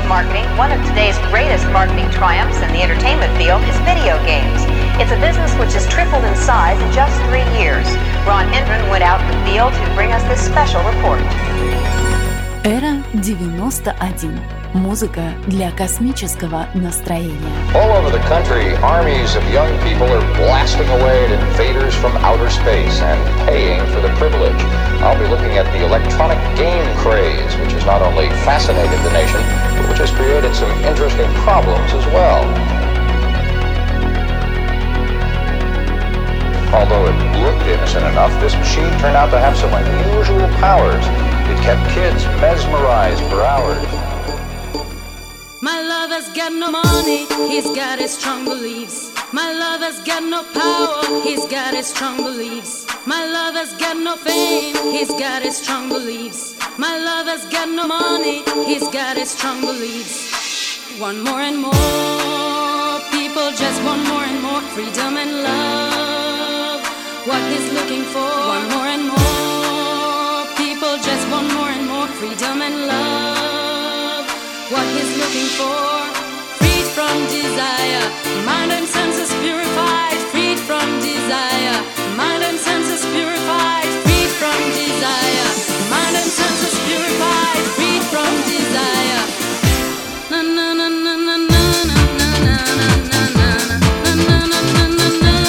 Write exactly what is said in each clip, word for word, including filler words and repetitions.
of marketing, one of today's greatest marketing triumphs in the entertainment field is video games. It's a business which has tripled in size in just three years. Ron Hendren went out in the field to bring us this special report. Эра девяносто один. Музыка для космического настроения. All over the country, armies of young people are blasting away at invaders from outer space and paying for the privilege. I'll be looking at the electronic game craze, which has not only fascinated the nation, but which has created some interesting problems as well. Although it looked innocent enough, this machine turned out to have some unusual powers. It kept kids mesmerized for hours. My lover's got no money, he's got his strong beliefs. My lover's got no power, he's got his strong beliefs. My lover's got no fame, he's got his strong beliefs. My lover's got no money, he's got his strong beliefs. Want more and more, people just want more and more freedom and love. What he's looking for, want more and more, people just want more and more freedom and love. What he's looking for, freed from desire, mind and senses purified, freed from desire, mind and senses purified, freed from desire, mind and senses purified, freed from desire. Na na na na na na na na na na na na na na na.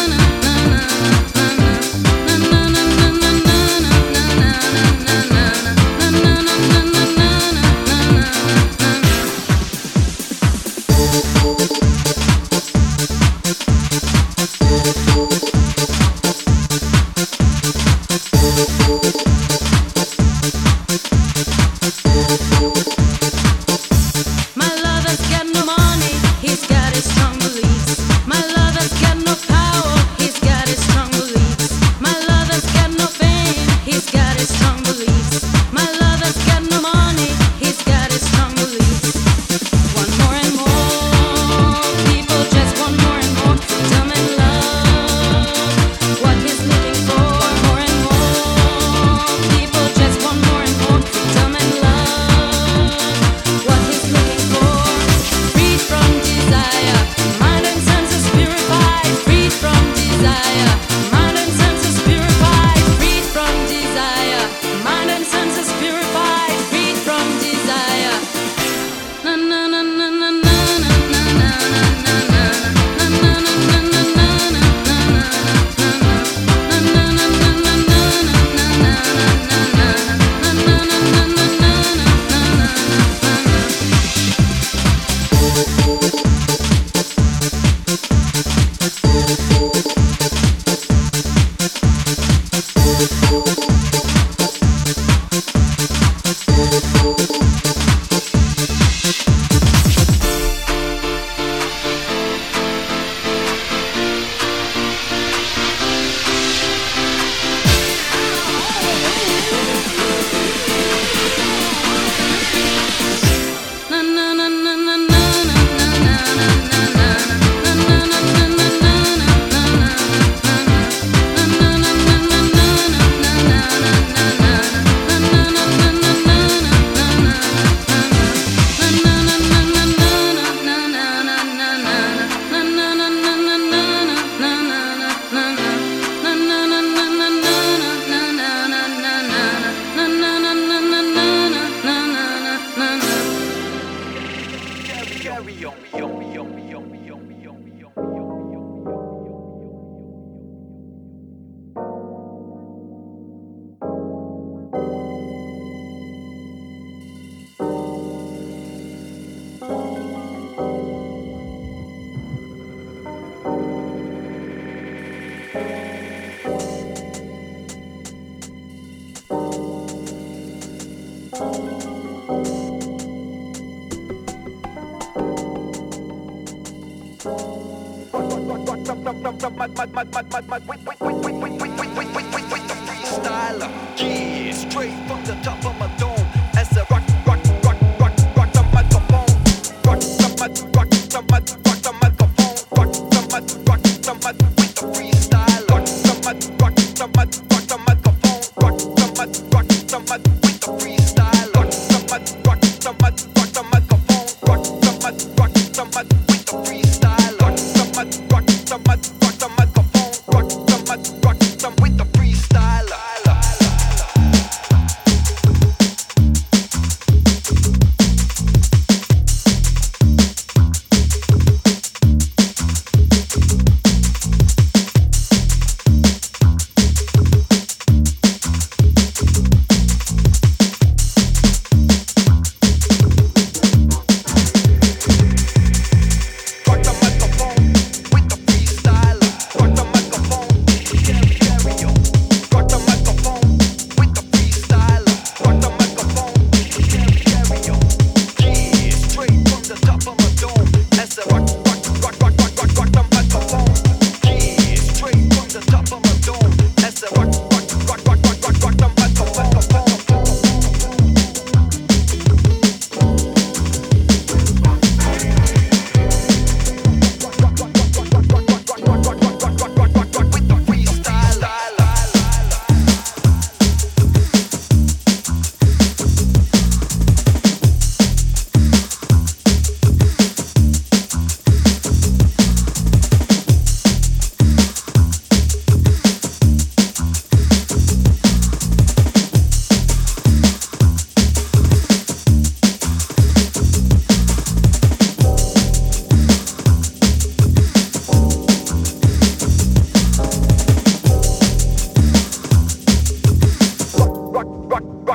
Freestyler, yeah, straight from the top of my dome. As I rock, rock, rock, rock, rock the microphone, rock the mic, rock the mic, rock the microphone, rock the mic, rock the mic with the freestyler, rock the mic, rock the mic, rock the microphone, rock the mic, rock the mic with the freestyler, rock the mic, rock the mic, rock the microphone, rock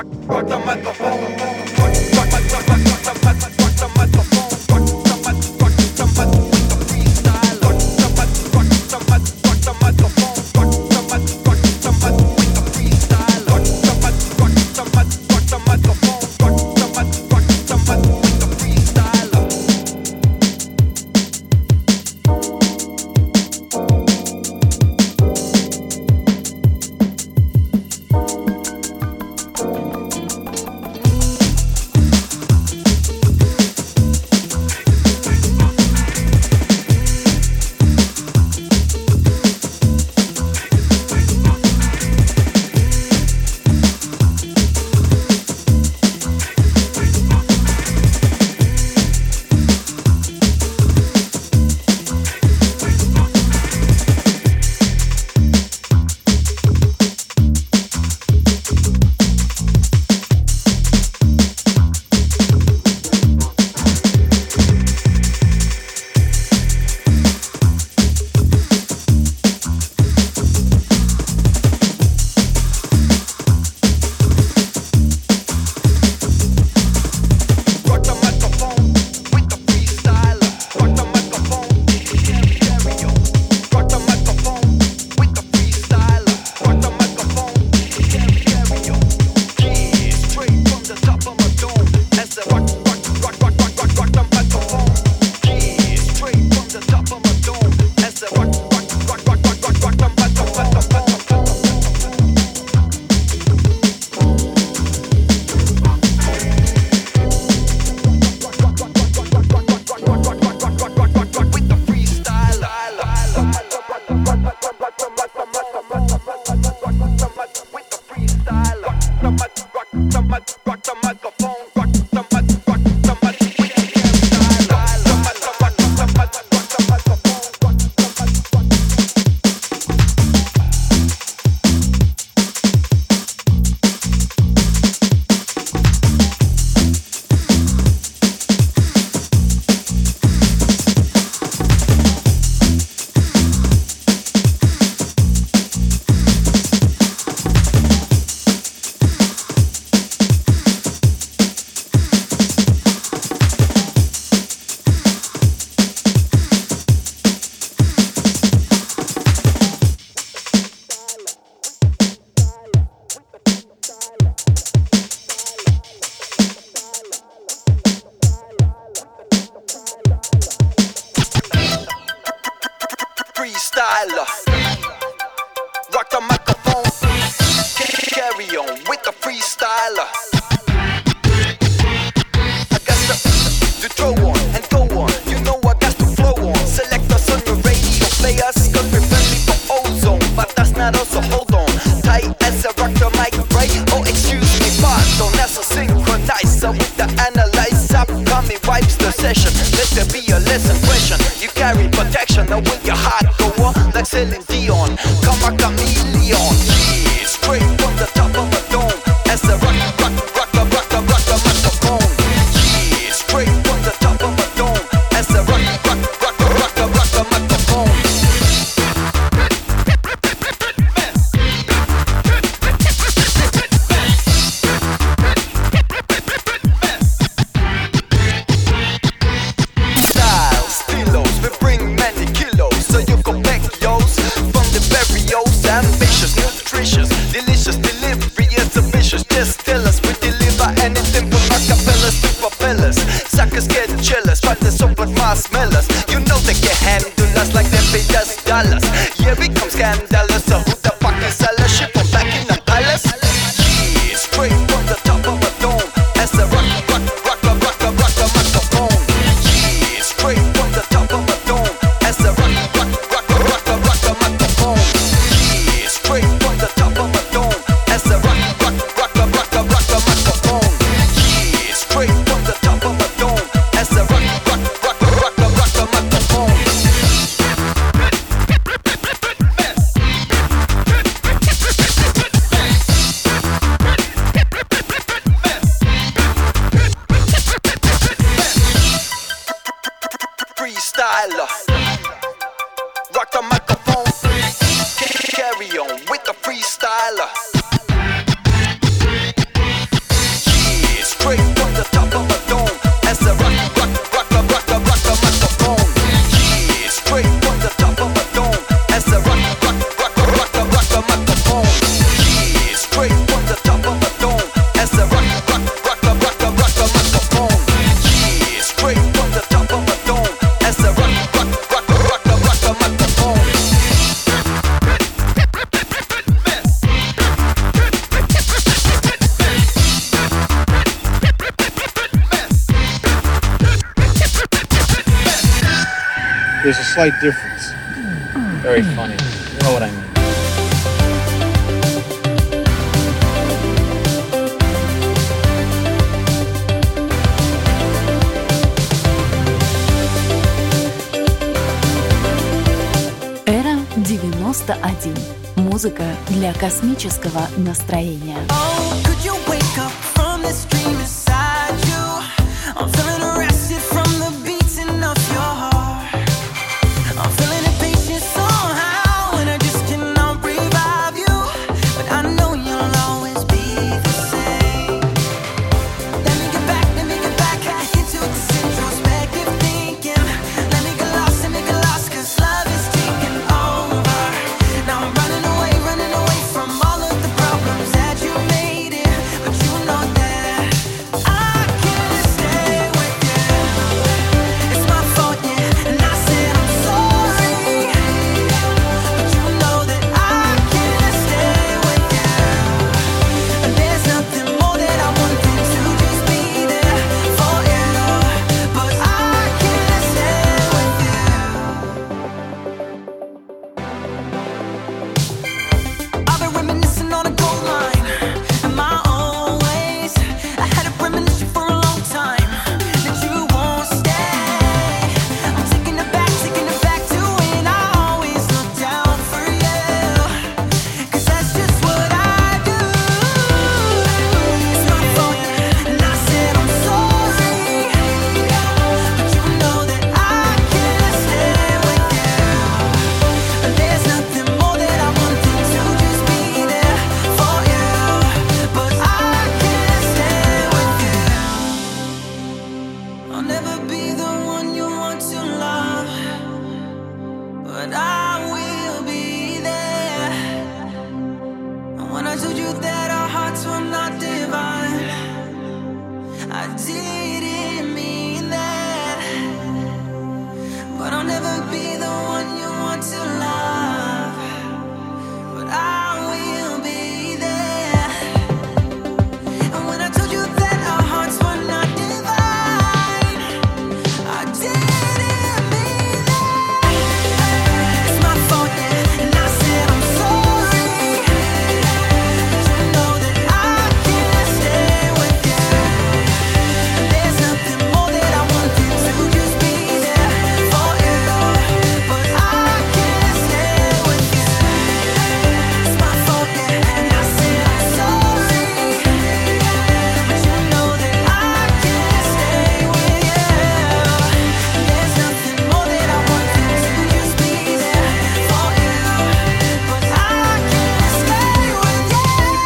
rock, rock the microphone. Rock, rock, rock, rock, rock, rock the mic, rock the microphone. Rock the mic, rock the mic with the freestyle. Rock the mic, rock the mic, rock the microphone. Rock the mic, rock the mic with the freestyle. Rock the mic, rock the mic, rock the microphone. Rock the mic, rock the mic with the freestyle. Freestyler, rock the microphone, carry on with the freestyler. I got to, to throw on and go on, you know I got to flow on. Select us on your radio players, cause we're friendly for ozone. But that's not us, so hold on, tight as I rock the mic, right? Oh excuse me, pardon, that's a synchronizer with the analyzer. Upcoming wipes the session, let there be a lesson question. You carry protection, now will your heart go on like Celine Dion? Come a chameleon, yeah, straight from the top of a dome. As I rock, rock, rock, rock, rock, rock, rock the microphone. Yeah, straight from the top of a dome. As I rock, rock, rock, rock, rock, rock the microphone. Ambitious, nutritious, delicious delivery is ambitious. Just tell us we deliver anything from acapellas to propellers. Suckers get jealous, try to soak but marshmallows. You know they can handle us like they pay us dollars. Yeah, we come scandalous. So who the fuck is all shit from back in the palace? Yeah, straight from the top of a dome. As I rock, rock, rock, rock, rock, rock, rock the microphone. Yeah, straight from the top of a dome. As I rock, rock, rock, rock, rock, rock the microphone. Straight from the top of a dome. As I rock, rock, rock, rock, rock, rock, rock the microphone. Yeah, straight from the top of a dome. As I rock, rock, rock, rock, rock, rock the microphone. there's a slight difference. Very funny. You know what I mean. Эра девяносто один. Музыка для космического настроения. Oh, could you wake up from this dream inside you? I'm feeling arrested from the beating of your heart. I'm feeling impatient somehow, and I just cannot revive you. But I know you'll always be the same. Let me get back, let me get back into this introspective thinking. Let me get lost, let me get lost, 'cause love is taking over. Now I'm running away, running away from all of the problems that you made it. But you know that I can't stay with you. It's my fault, yeah, and I said I'm sorry. But you know that I can't stay with you. And there's nothing more that I want than to just be there for you. But I can't stay with you. I've been reminiscing on a gold mine in my own ways. I had a premonition for a long time that you won't stay. I'm taking it back, taking it back to when I always looked down for you. 'Cause that's just what I do. It's my fault, and I said I'm sorry. But you know that I can't stay with you. And there's nothing more that I want than to just be there for you. But I can't stay with you. I'll never be the one you want to love, but I will be there. And when I told you that our hearts were not divine, I didn't mean that. But I'll never be the one you want to love, but I will be there. And when I told you that our hearts were not divine, I didn't mean that. It's my fault, yeah, and I said I'm sorry. But you know that I can't stay with you. And there's nothing more that I want than to just be there for you. But I can't stay with you. It's my fault, yeah, and I said I'm sorry. But you know that I can't stay with you. And there's nothing more that I want than to just be there for you. But I can't stay with you.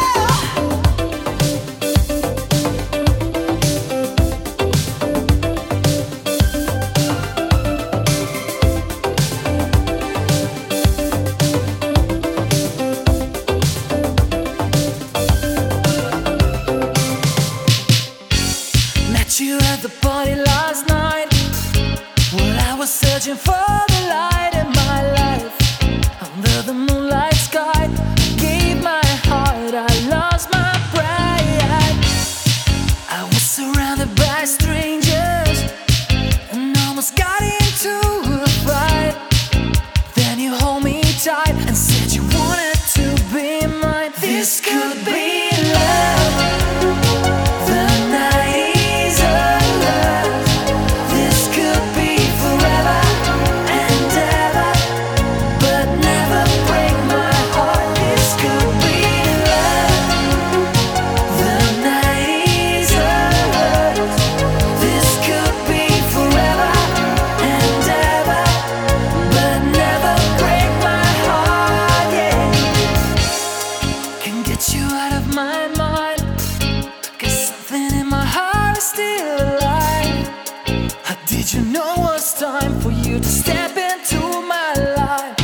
Met you at the party last night. Well, I was searching for the light in my life. Under the moonlight sky, I gave my heart, I lost my pride. I was surrounded by strangers and almost got into a fight. Then you hold me tight and said you wanted to be mine. This could be love. The night is alive. This could be forever and ever, but never break my heart. This could be love. The night is alive. This could be forever and ever, but never break my heart. Yeah, can get you out of my mind. 'Cause something in my heart is still alive. How did you know it's time for you to step into my life?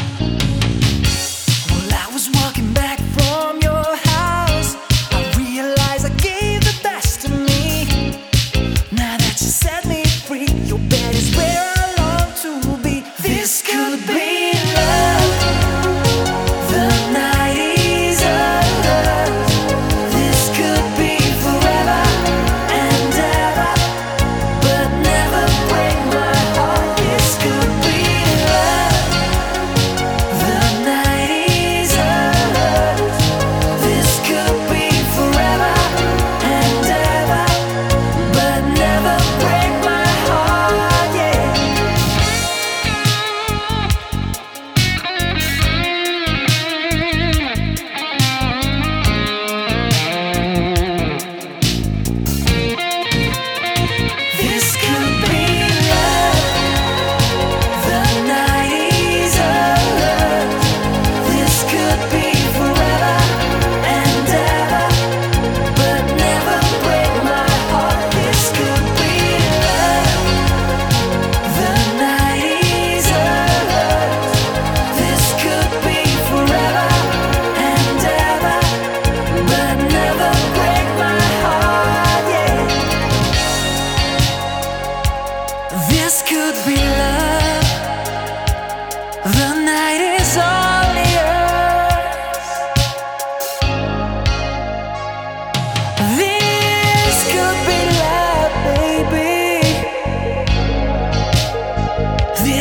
Well, I was walking back from your house. I realized I gave the best of me. Now that you set me free, your bed is where I long to be. This could be love. The night is alive. This could be forever and ever, but never break my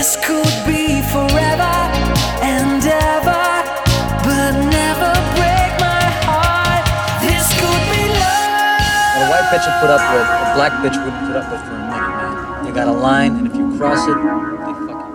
This could be forever and ever, but never break my heart. This could be love. What a white bitch will put up with, a black bitch wouldn't put up with for a minute, man. They got a line, and if you cross it, they fuck you.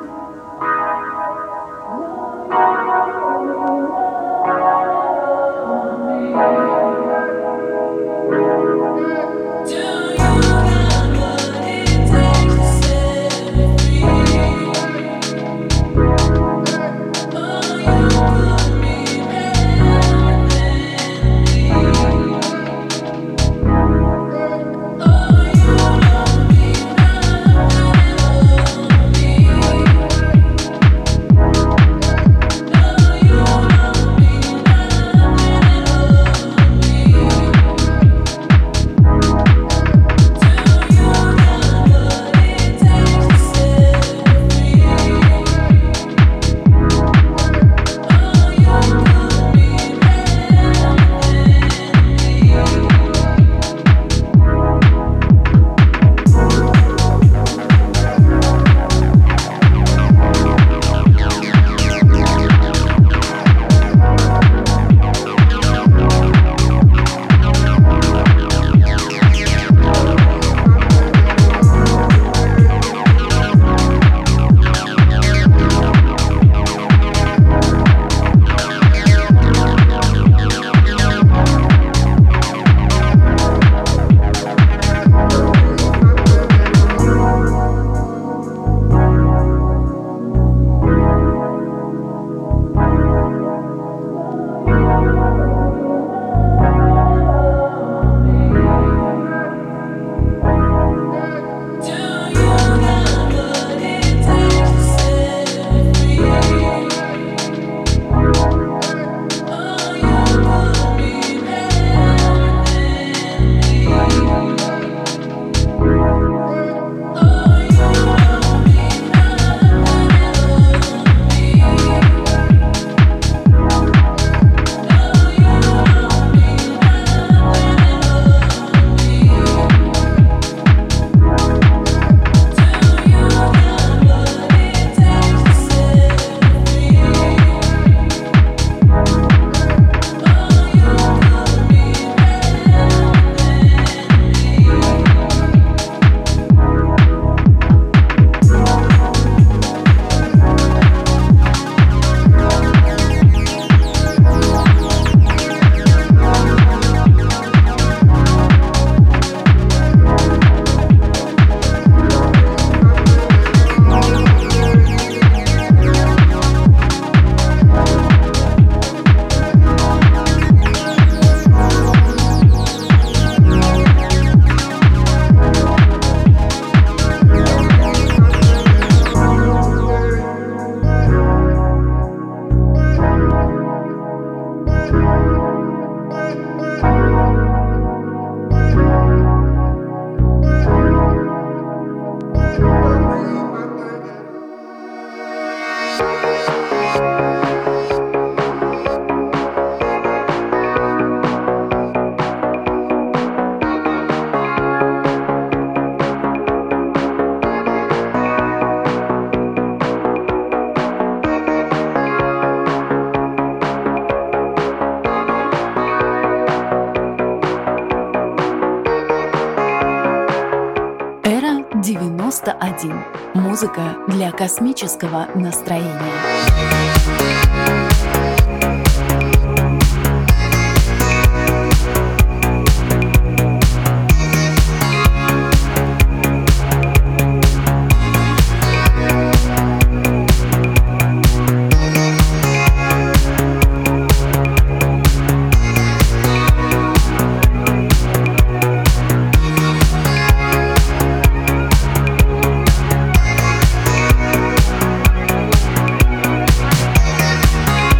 девяносто один. Музыка для космического настроения. We'll be right back.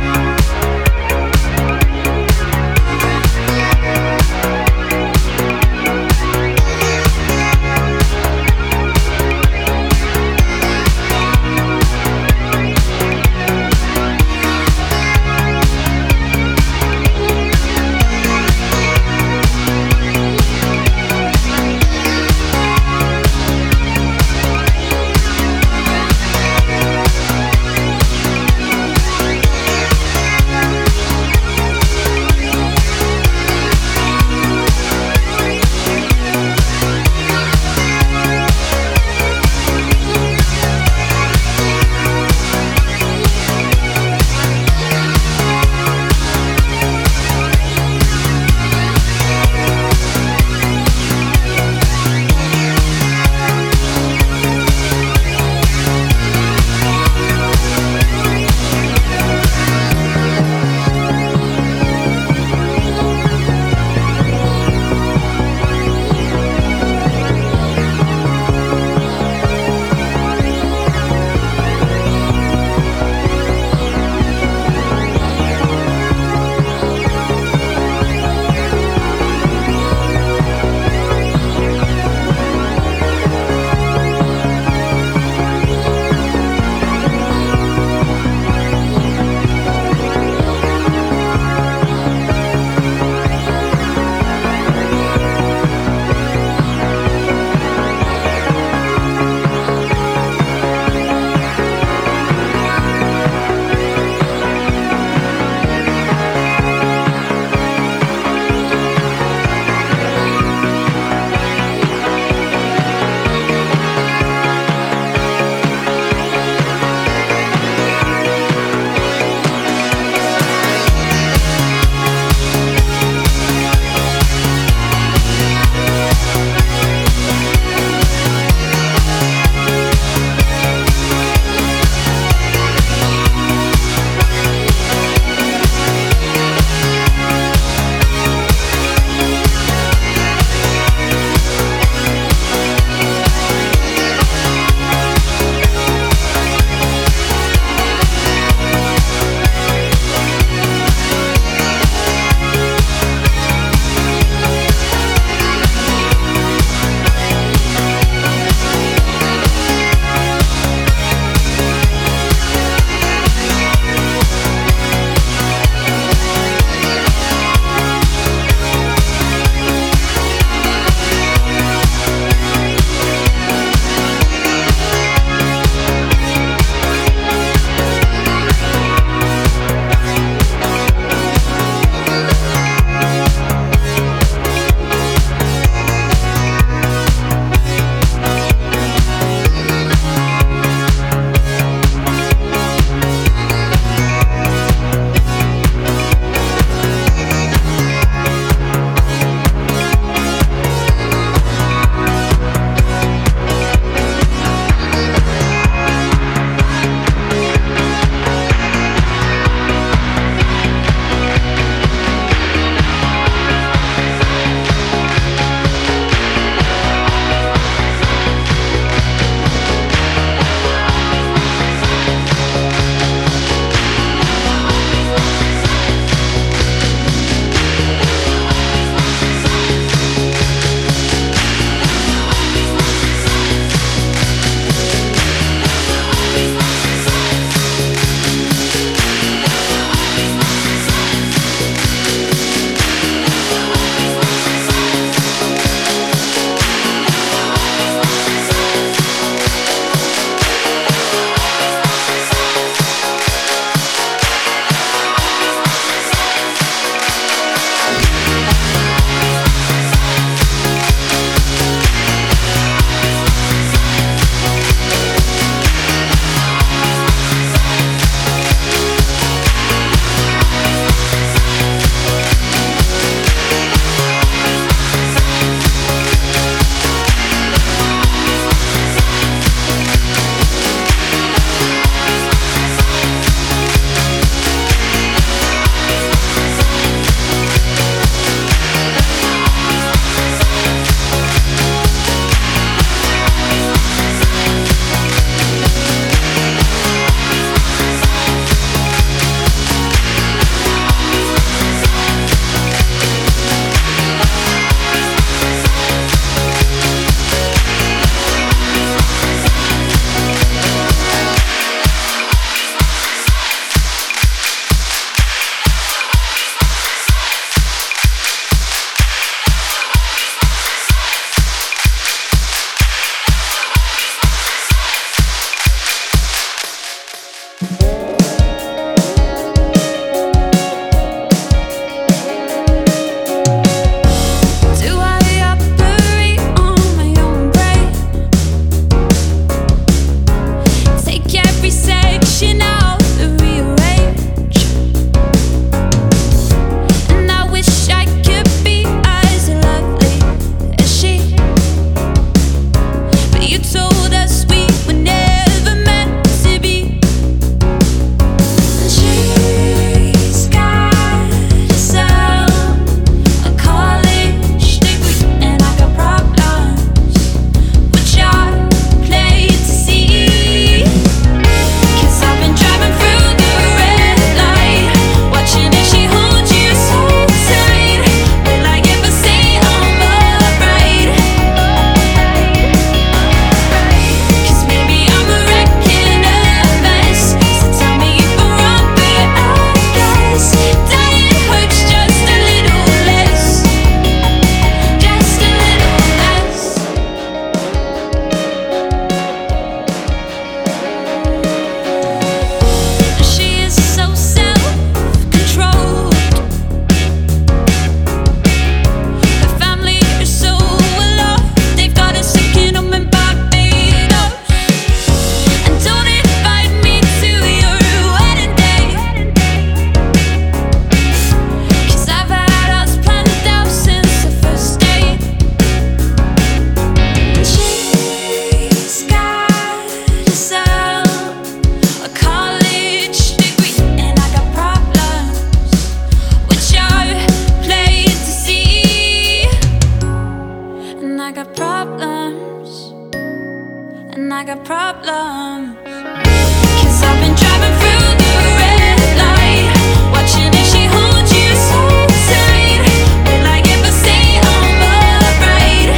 I got problems. 'Cause I've been driving through the red light, watching if she holds you so tight. Will I ever say I'm alright?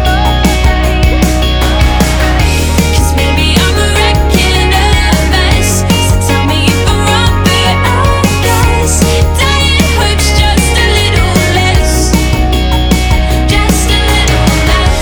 'Cause maybe I'm a wreck and a mess, so tell me if I'm wrong, but I guess dying hurts just a little less, just a little less.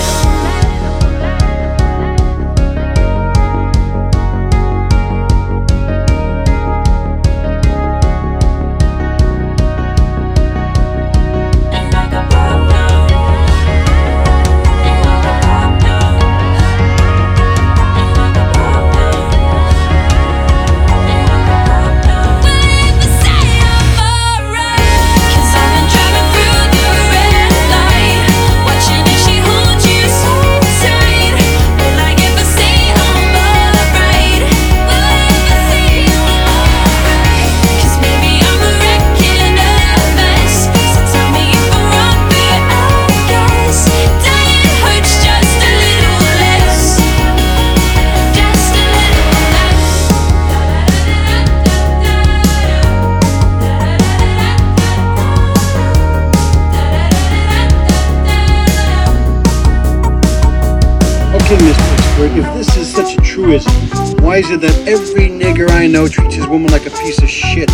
Miss Pittsburgh, if this is such a truism, why is it that every nigger I know treats his woman like a piece of shit?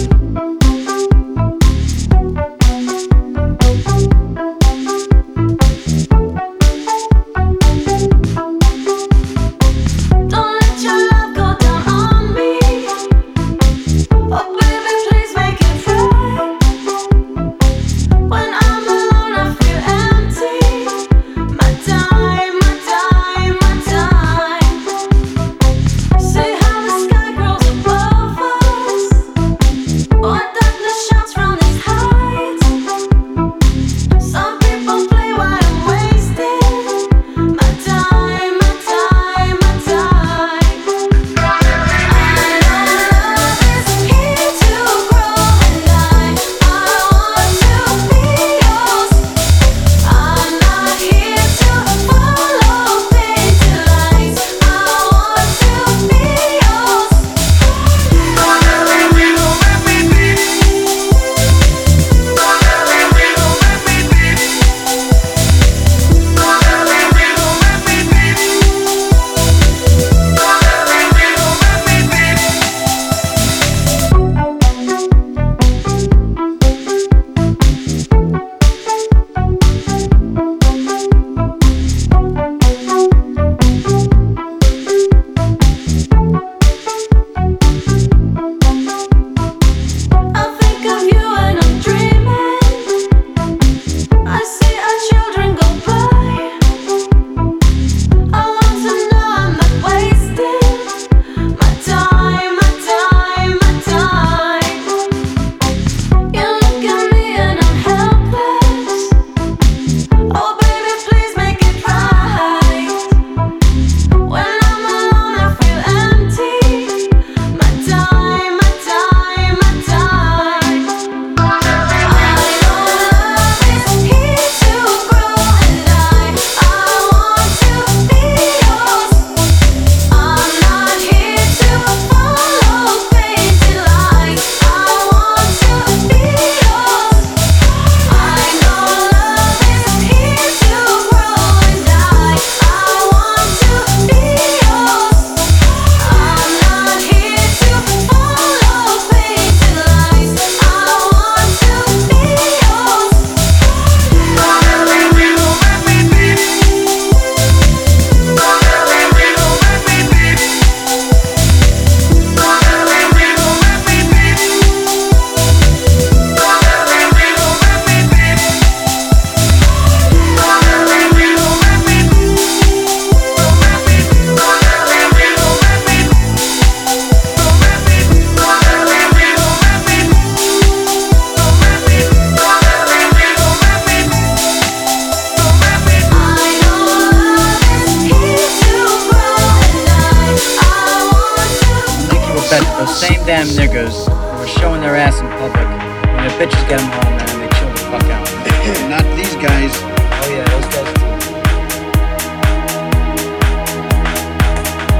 Damn niggers who are showing their ass in public. When their bitches get them home, man, they chill the fuck out. Not these guys. Oh yeah, those guys too.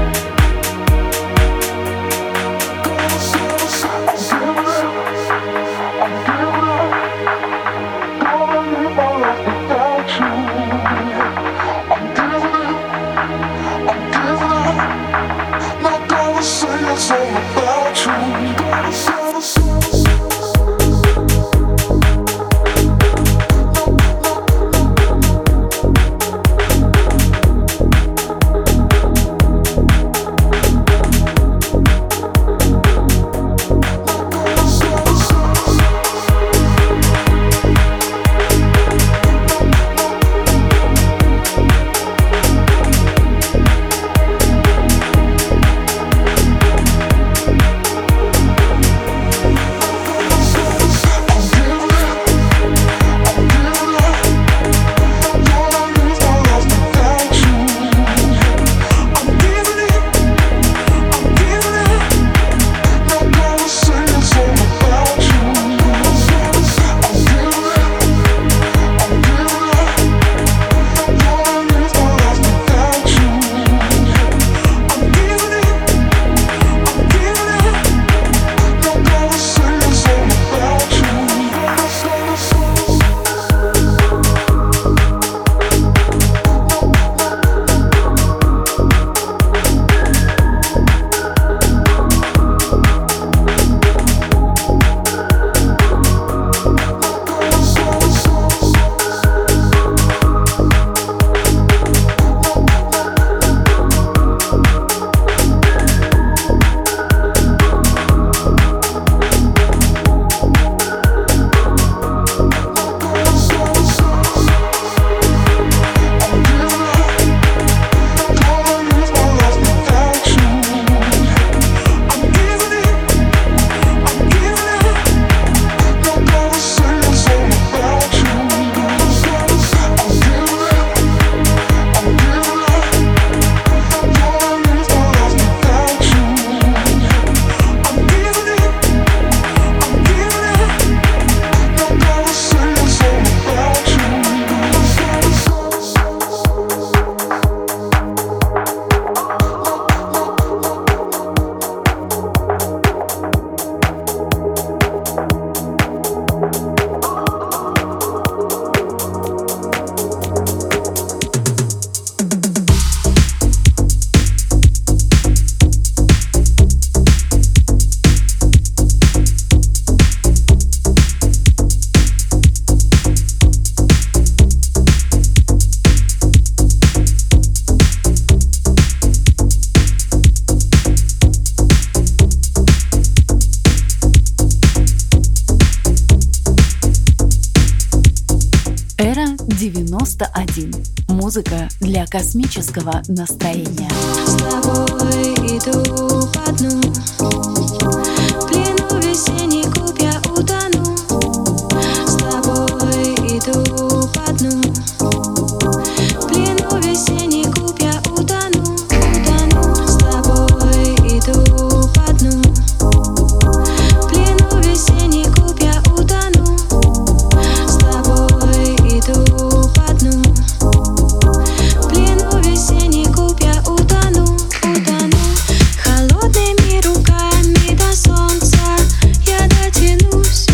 один. Музыка для космического настроения. С тобой иду по дну, в плену весенний клуб я утону. С тобой иду по дну, в плену весенний клуб я утону, утону. С тобой иду по дну, в плену весенний клуб я утону. С тобой иду по дну, в плену весенний клуб я утону, утону. Холодными руками до солнца я дотянусь.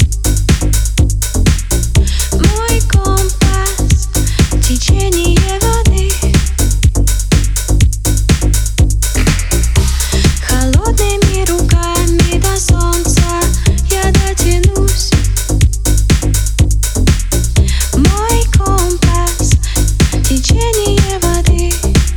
Мой компас — течение воды. Холодными руками до солнца я дотянусь. Мой компас — течение воды.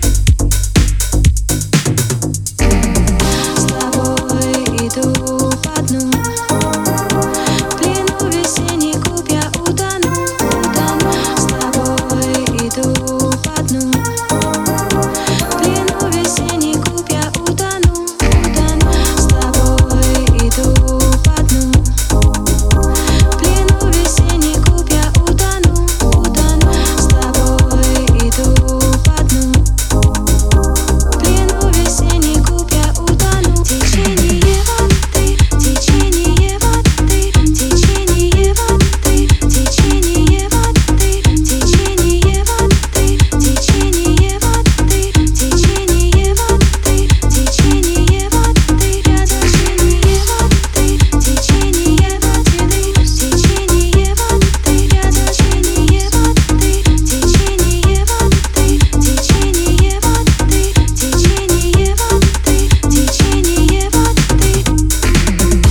С тобой иду по дну, в плену весенний клуб я утону, утону. С тобой иду по дну, в плену весенний клуб я утону, утону. С тобой иду по дну, в плену весенний клуб я утону, утону. С тобой иду по дну, в плену весенний клуб я утону. Течение воды, течение воды, течение воды, течение воды, течение воды, течение воды, течение воды, течение воды, я течение воды, течение воды, течение воды, я течение воды, течение воды, течение воды, течение воды, течение воды.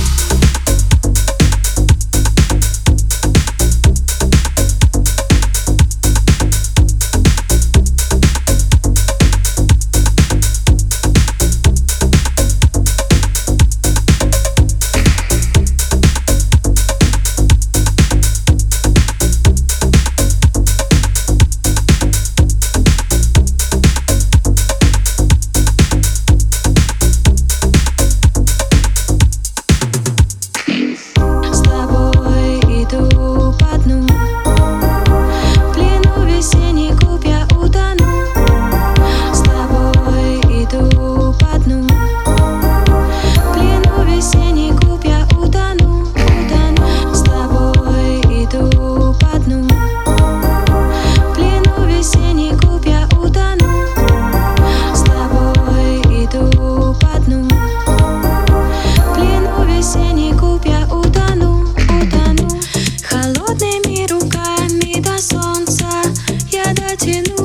С тобой иду по дну, в плену весенний клуб я утону. С тобой иду по дну, в плену весенний клуб я утону, утону. С тобой иду по дну, в плену весенний клуб я утону. С тобой иду по дну, в плену весенний клуб я утону, утону. Холодными руками до солнца я дотяну.